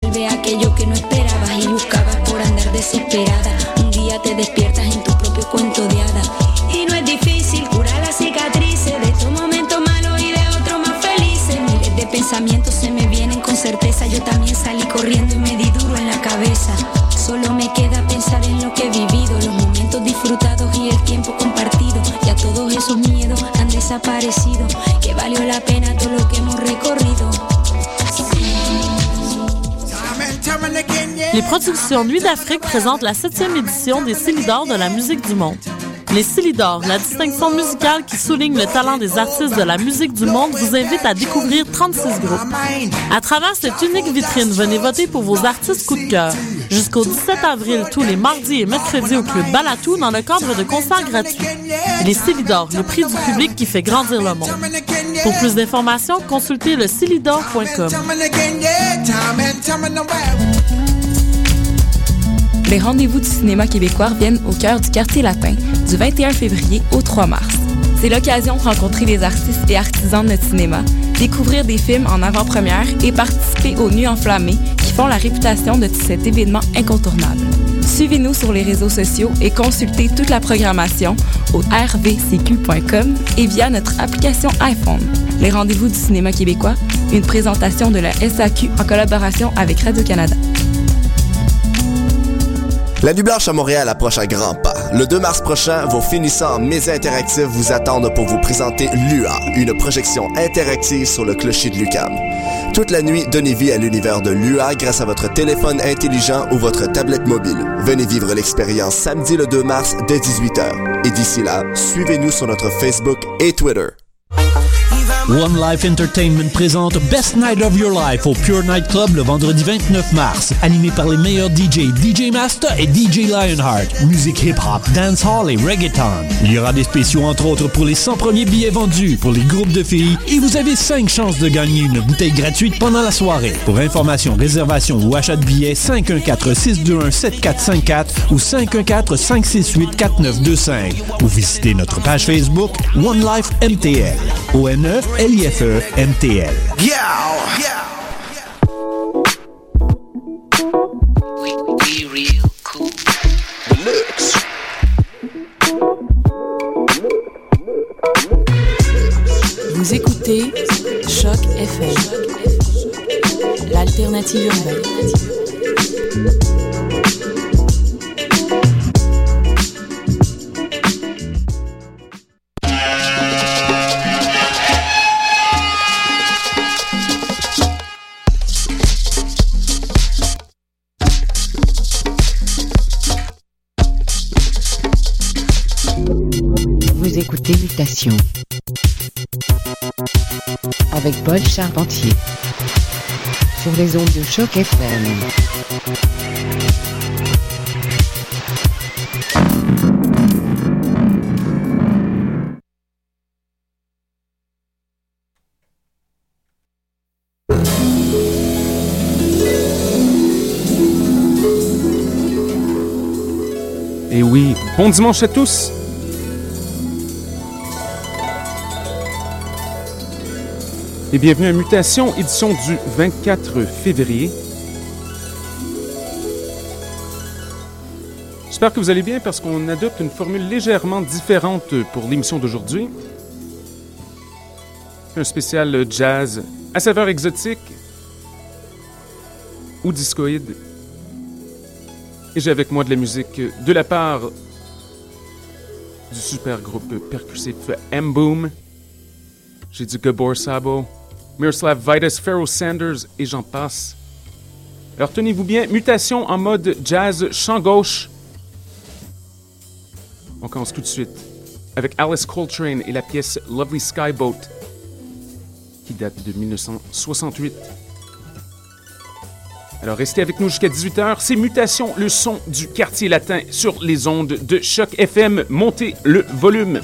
Ve aquello que no esperabas y buscabas por andar desesperada. Un día te despiertas en tu propio cuento de hadas. Y no es difícil curar las cicatrices de estos momentos malos y de otros más felices. Miles de pensamientos se me vienen con certeza. Yo también salí corriendo y me di duro en la cabeza. Solo me queda pensar en lo que he vivido, los momentos disfrutados y el tiempo compartido. Ya todos esos miedos han desaparecido. Que valió la pena todo lo que hemos recorrido. Les productions Nuit d'Afrique présentent la 7e édition des Célidors de la musique du monde. Les Célidors, la distinction musicale qui souligne le talent des artistes de la musique du monde, vous invite à découvrir 36 groupes. À travers cette unique vitrine, venez voter pour vos artistes coup de cœur. Jusqu'au 17 avril, tous les mardis et mercredis au Club Balatou dans le cadre de concerts gratuits. Les Célidors, le prix du public qui fait grandir le monde. Pour plus d'informations, consultez le celidor.com. Les rendez-vous du cinéma québécois viennent au cœur du Quartier Latin du 21 février au 3 mars. C'est l'occasion de rencontrer les artistes et artisans de notre cinéma, découvrir des films en avant-première et participer aux Nuits enflammées qui font la réputation de cet événement incontournable. Suivez-nous sur les réseaux sociaux et consultez toute la programmation au rvcq.com et via notre application iPhone. Les rendez-vous du cinéma québécois, une présentation de la SAQ en collaboration avec Radio-Canada. La Nuit Blanche à Montréal approche à grands pas. Le 2 mars prochain, vos finissants médias interactifs vous attendent pour vous présenter l'UA, une projection interactive sur le clocher de l'UQAM. Toute la nuit, donnez vie à l'univers de l'UA grâce à votre téléphone intelligent ou votre tablette mobile. Venez vivre l'expérience samedi le 2 mars dès 18h. Et d'ici là, suivez-nous sur notre Facebook et Twitter. One Life Entertainment présente Best Night of Your Life au Pure Night Club le vendredi 29 mars. Animé par les meilleurs DJ, DJ Master et DJ Lionheart. Musique hip-hop, dancehall et reggaeton. Il y aura des spéciaux entre autres pour les 100 premiers billets vendus pour les groupes de filles et vous avez 5 chances de gagner une bouteille gratuite pendant la soirée. Pour information, réservation ou achat de billets, 514-621-7454 ou 514-568-4925 ou visitez notre page Facebook One Life MTL. ONE-LIFE-MTL. Vous écoutez Choc FM, l'alternative urbaine. Vous écoutez Mutation avec Paul Charpentier sur les ondes de Choc FM. Et oui, bon dimanche à tous. Et bienvenue à Mutation, édition du 24 février. J'espère que vous allez bien parce qu'on adopte une formule légèrement différente pour l'émission d'aujourd'hui. Un spécial jazz à saveur exotique ou discoïde. Et j'ai avec moi de la musique de la part du super groupe percussif M-Boom. J'ai du Gabor Szabo, Miroslav Vidas, Pharoah Sanders et j'en passe. Alors tenez-vous bien, mutation en mode jazz chant gauche. On commence tout de suite avec Alice Coltrane et la pièce Lovely Skyboat qui date de 1968. Alors restez avec nous jusqu'à 18h, c'est Mutation, le son du Quartier Latin sur les ondes de Choc FM. Montez le volume.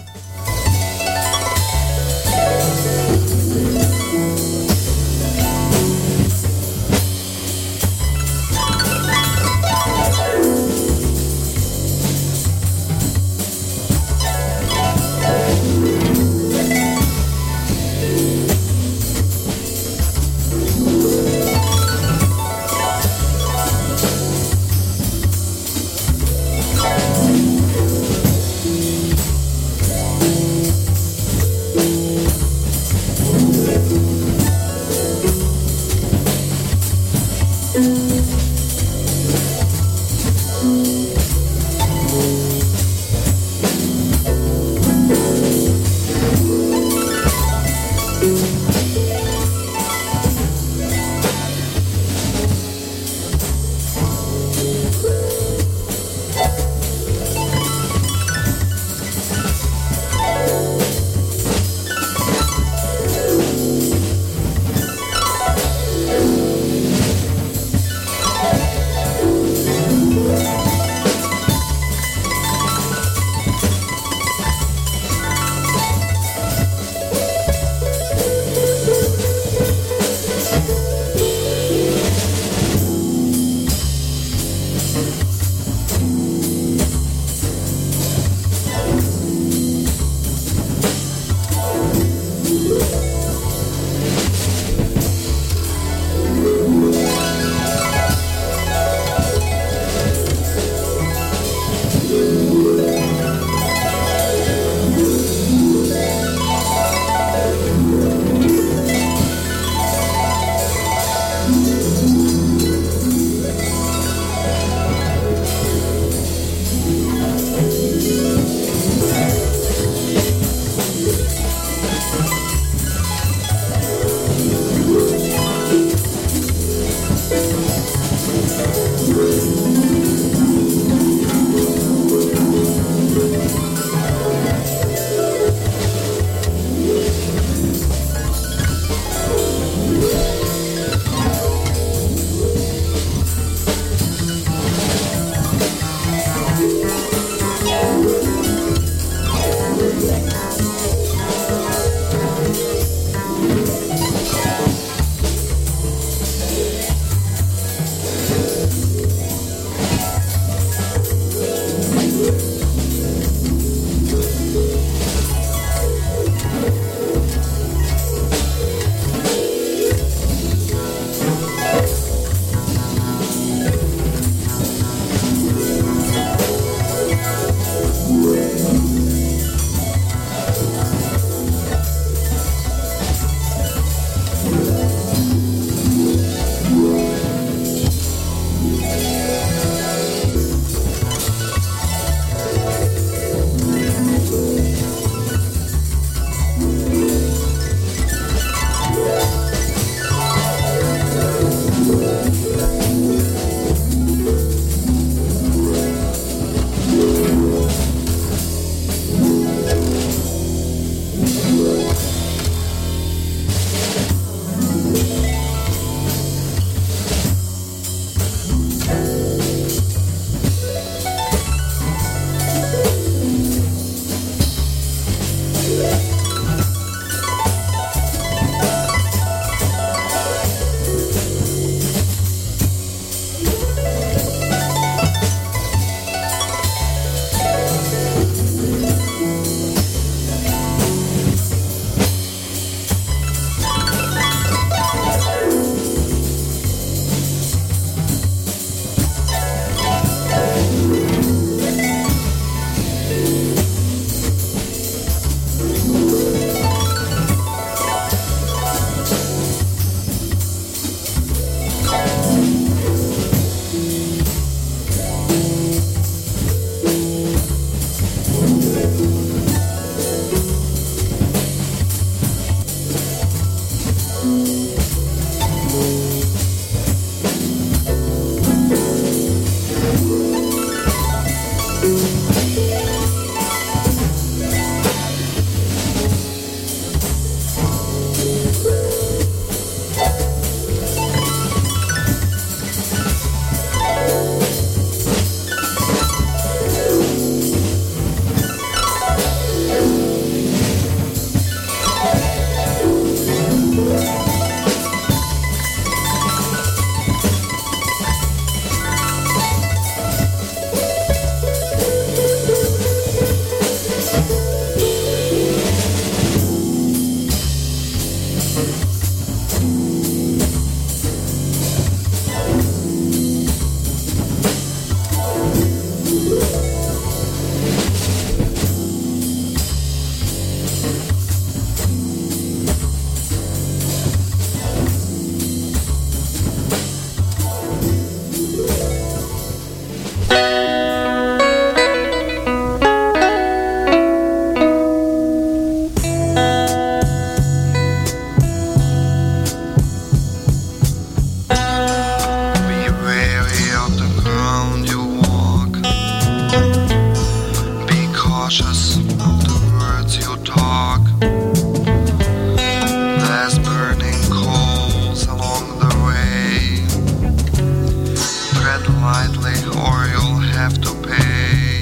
politely or you'll have to pay.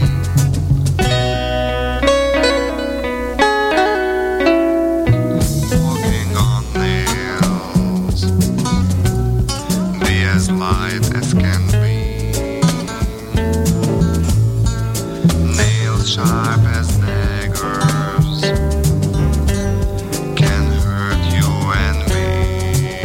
Walking on nails, be as light as can be. Nails sharp as daggers can hurt you and me.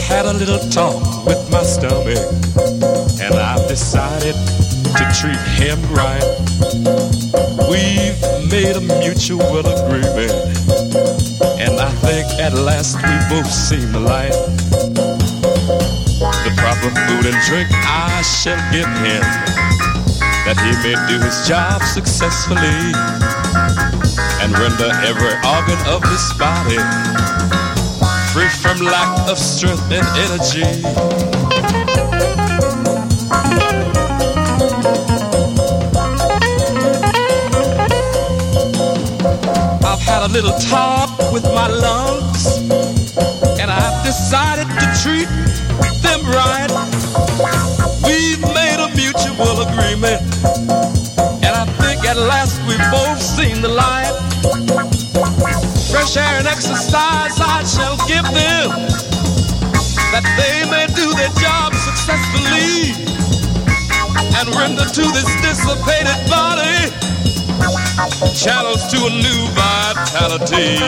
had a little talk with my stomach, and I've decided to treat him right. We've made a mutual agreement, and I think at last we both seen the light. The proper food and drink I shall give him, that he may do his job successfully and render every organ of his body free from lack of strength and energy. I've had a little talk with my lungs, and I've decided to treat them right. We've made a mutual agreement, and I think at last we've both seen the light. Fresh air and exercise I shall give them, that they may do their job successfully and render to this dissipated body channels to a new vitality.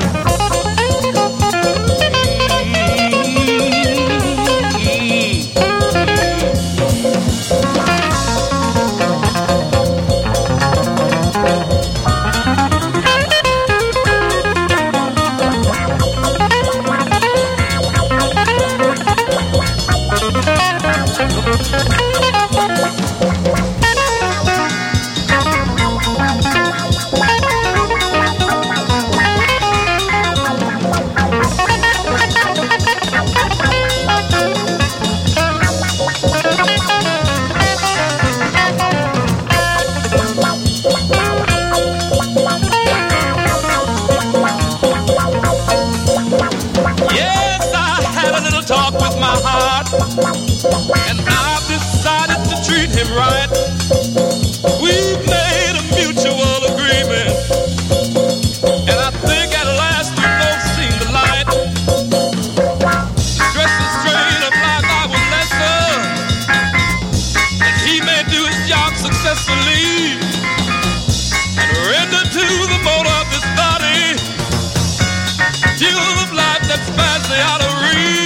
And I've decided to treat him right. We've made a mutual agreement, and I think at last we've both seen the light. Stress and strain of life I will lessen, that he may do his job successfully and render to the motor of this body fuel of life that spans the outer reach.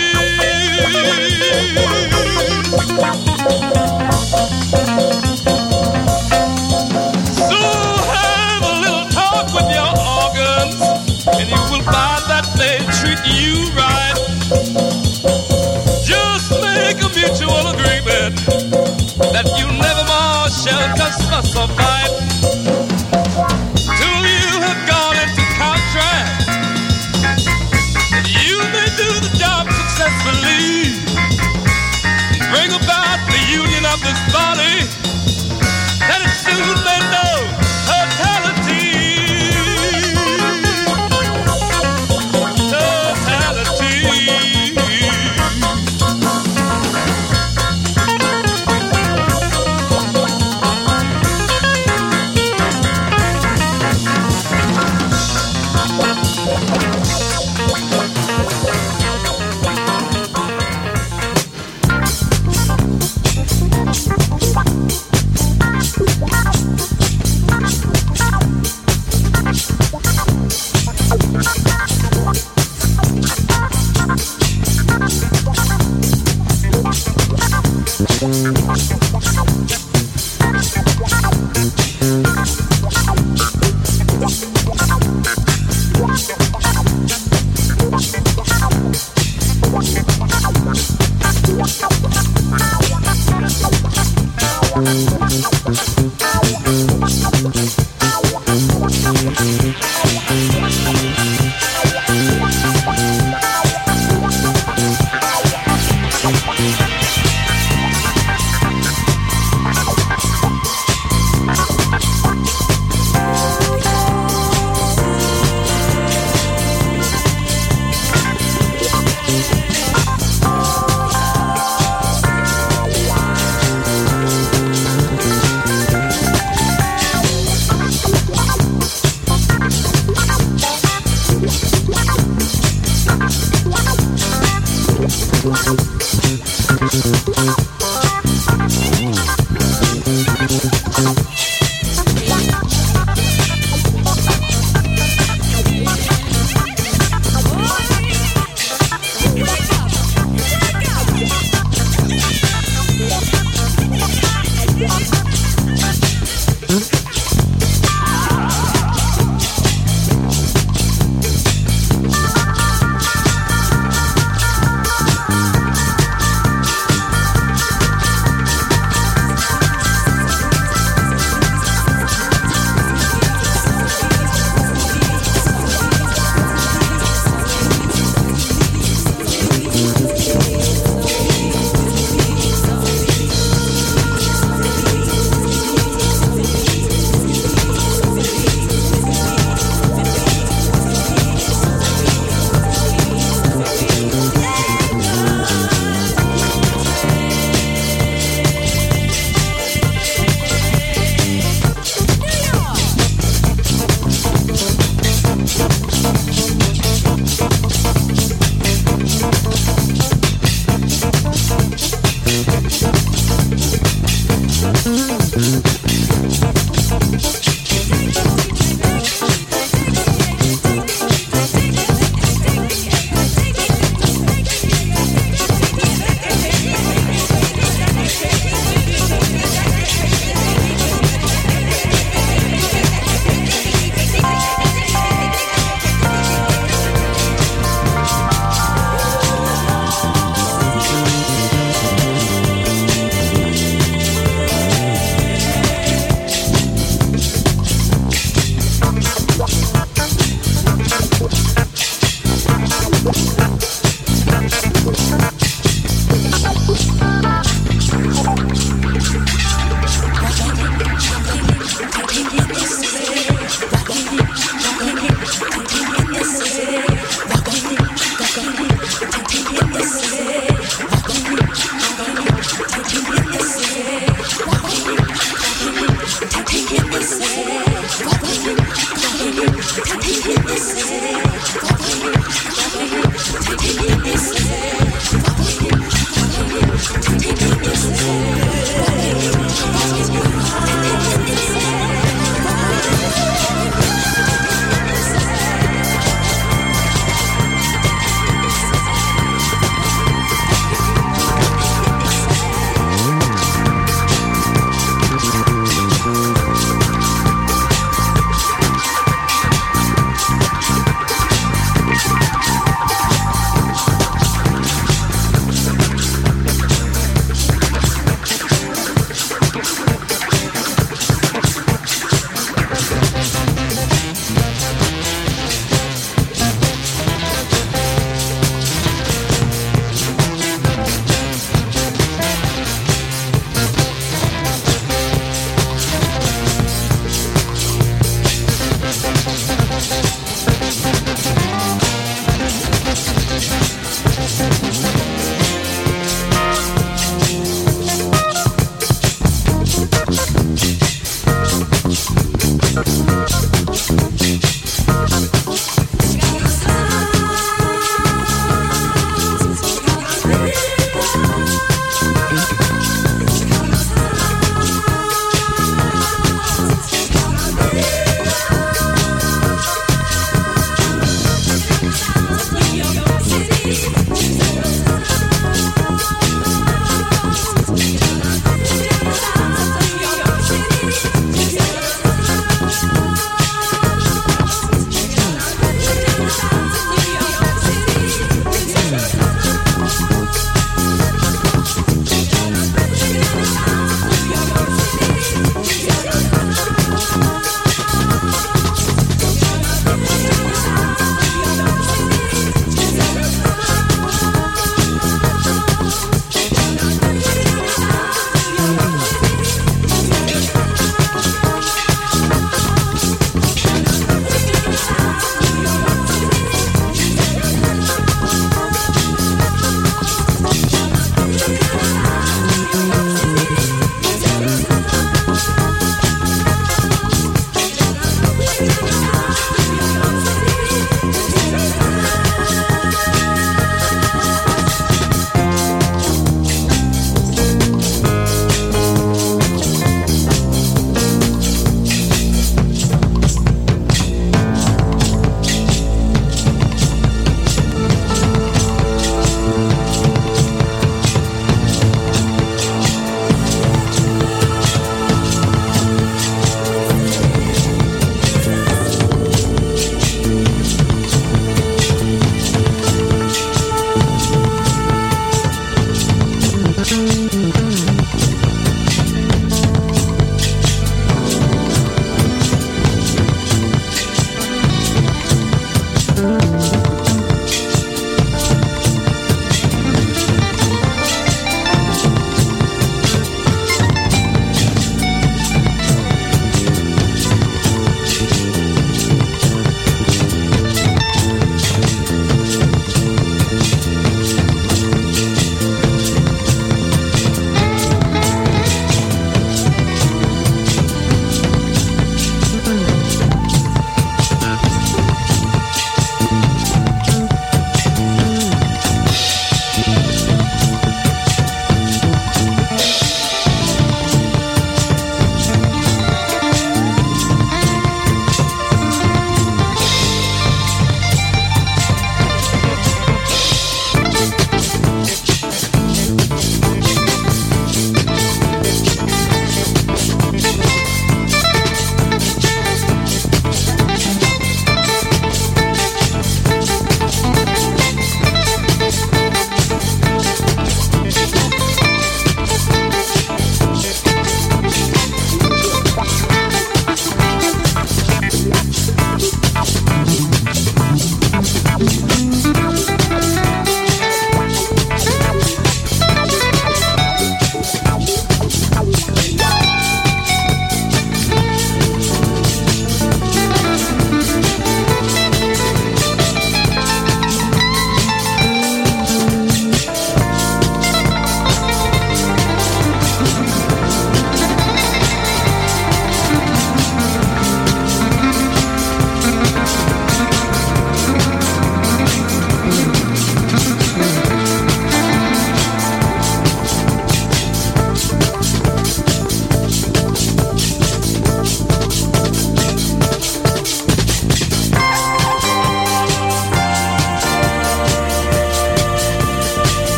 So have a little talk with your organs, and you will find that they treat you right. Just make a mutual agreement that you never more shall cuss, fuss, or fight till you have gone into contract, and you may do the job successfully, bring about the union of this body, and it soon may know totality.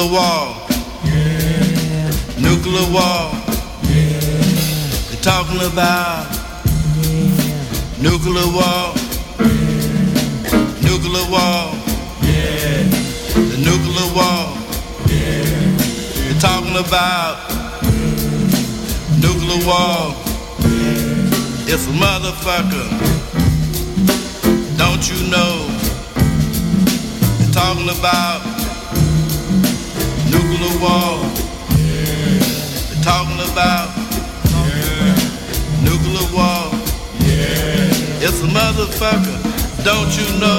Nuclear war. Yeah. Nuclear war. Yeah. They're talking about nuclear war. Nuclear war. Yeah. The nuclear war. Yeah. They're talking about nuclear war. Yeah. It's a motherfucker. Don't you know? They're talking about nuclear war. Yeah. They're talking about nuclear war. Yeah. It's a motherfucker. Don't you know?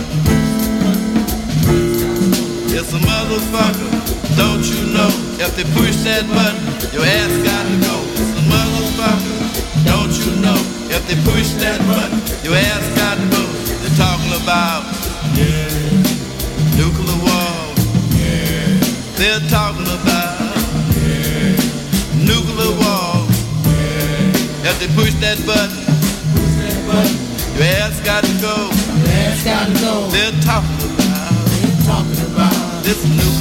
It's a motherfucker. Don't you know? If they push that button, your ass got to go. It's a motherfucker. Don't you know? If they push that button, your ass got to go. They're talking about nuclear war. They're talking about nuclear war. If they push that button, your ass got to go. Your ass got to go. They're talking about this nuclear